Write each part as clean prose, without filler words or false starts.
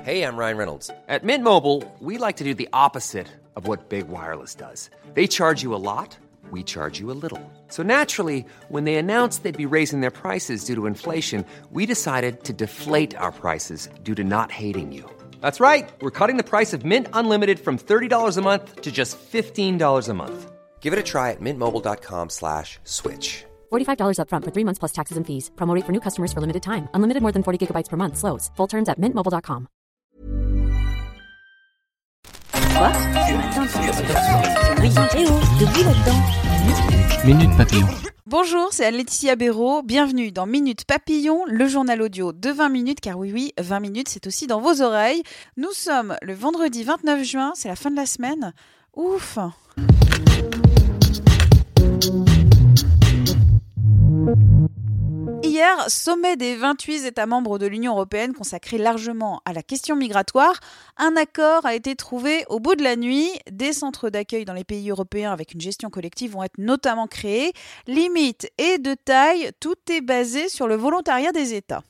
Hey, I'm Ryan Reynolds. At Mint Mobile, we like to do the opposite of what Big Wireless does. They charge you a lot, we charge you a little. So naturally, when they announced they'd be raising their prices due to inflation, we decided to deflate our prices due to not hating you. That's right. We're cutting the price of Mint Unlimited from $30 a month to just $15 a month. Give it a try at mintmobile.com/switch. $45 up front for 3 months plus taxes and fees. Promo rate for new customers for limited time. Unlimited more than 40 gigabytes per month. Slows full terms at mintmobile.com. Quoi? Ce matin, de bruit là-dedans. Minute Papillon. Bonjour, c'est Anne-Laetitia Béraud. Bienvenue dans Minute Papillon, le journal audio de 20 minutes, car oui, 20 minutes, c'est aussi dans vos oreilles. Nous sommes le vendredi 29 juin, c'est la fin de la semaine. Ouf! Hier, sommet des 28 États membres de l'Union européenne consacré largement à la question migratoire, un accord a été trouvé au bout de la nuit. Des centres d'accueil dans les pays européens avec une gestion collective vont être notamment créés. Limite et de taille, tout est basé sur le volontariat des États.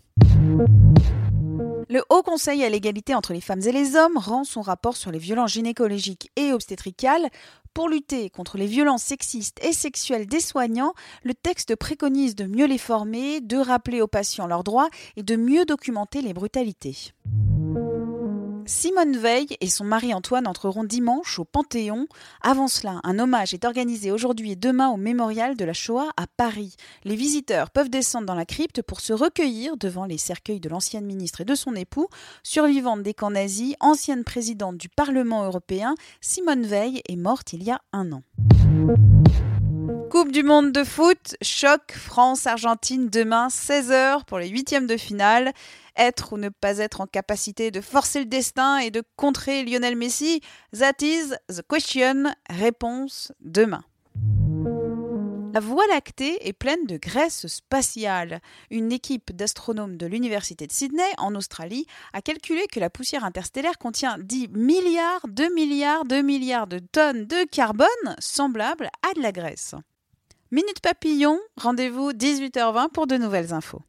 Le Haut Conseil à l'égalité entre les femmes et les hommes rend son rapport sur les violences gynécologiques et obstétricales. Pour lutter contre les violences sexistes et sexuelles des soignants, le texte préconise de mieux les former, de rappeler aux patients leurs droits et de mieux documenter les brutalités. Simone Veil et son mari Antoine entreront dimanche au Panthéon. Avant cela, un hommage est organisé aujourd'hui et demain au mémorial de la Shoah à Paris. Les visiteurs peuvent descendre dans la crypte pour se recueillir devant les cercueils de l'ancienne ministre et de son époux. Survivante des camps nazis, ancienne présidente du Parlement européen, Simone Veil est morte il y a 1 an. Coupe du monde de foot, choc France-Argentine demain 16h pour les 8e de finale. Être ou ne pas être en capacité de forcer le destin et de contrer Lionel Messi, that is the question. Réponse demain. La Voie lactée est pleine de graisse spatiale. Une équipe d'astronomes de l'université de Sydney, en Australie, a calculé que la poussière interstellaire contient 10 milliards de tonnes de carbone semblables à de la graisse. Minute Papillon, rendez-vous 18h20 pour de nouvelles infos.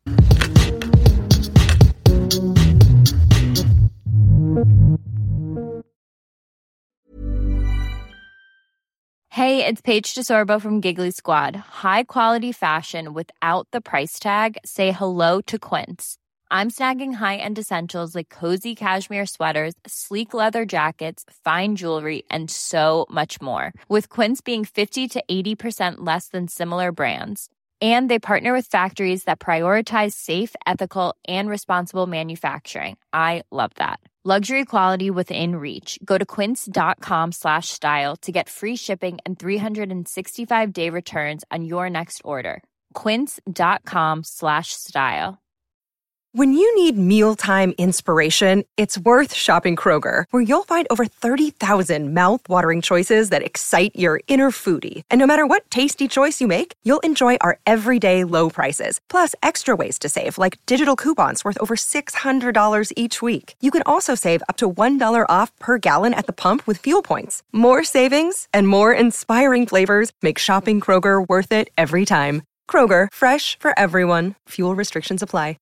Hey, it's Paige DeSorbo from Giggly Squad. High quality fashion without the price tag. Say hello to Quince. I'm snagging high-end essentials like cozy cashmere sweaters, sleek leather jackets, fine jewelry, and so much more. With Quince being 50 to 80% less than similar brands. And they partner with factories that prioritize safe, ethical, and responsible manufacturing. I love that. Luxury quality within reach. Go to quince.com/style to get free shipping and 365-day returns on your next order. Quince.com/style. When you need mealtime inspiration, it's worth shopping Kroger, where you'll find over 30,000 mouth-watering choices that excite your inner foodie. And no matter what tasty choice you make, you'll enjoy our everyday low prices, plus extra ways to save, like digital coupons worth over $600 each week. You can also save up to $1 off per gallon at the pump with fuel points. More savings and more inspiring flavors make shopping Kroger worth it every time. Kroger, fresh for everyone. Fuel restrictions apply.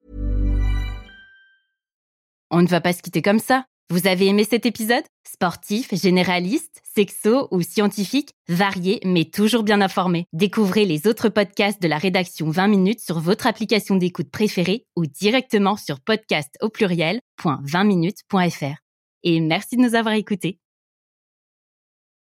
On ne va pas se quitter comme ça. Vous avez aimé cet épisode? Sportif, généraliste, sexo ou scientifique, varié mais toujours bien informé. Découvrez les autres podcasts de la rédaction 20 minutes sur votre application d'écoute préférée ou directement sur podcast au pluriel.20minutes.fr. Et merci de nous avoir écoutés.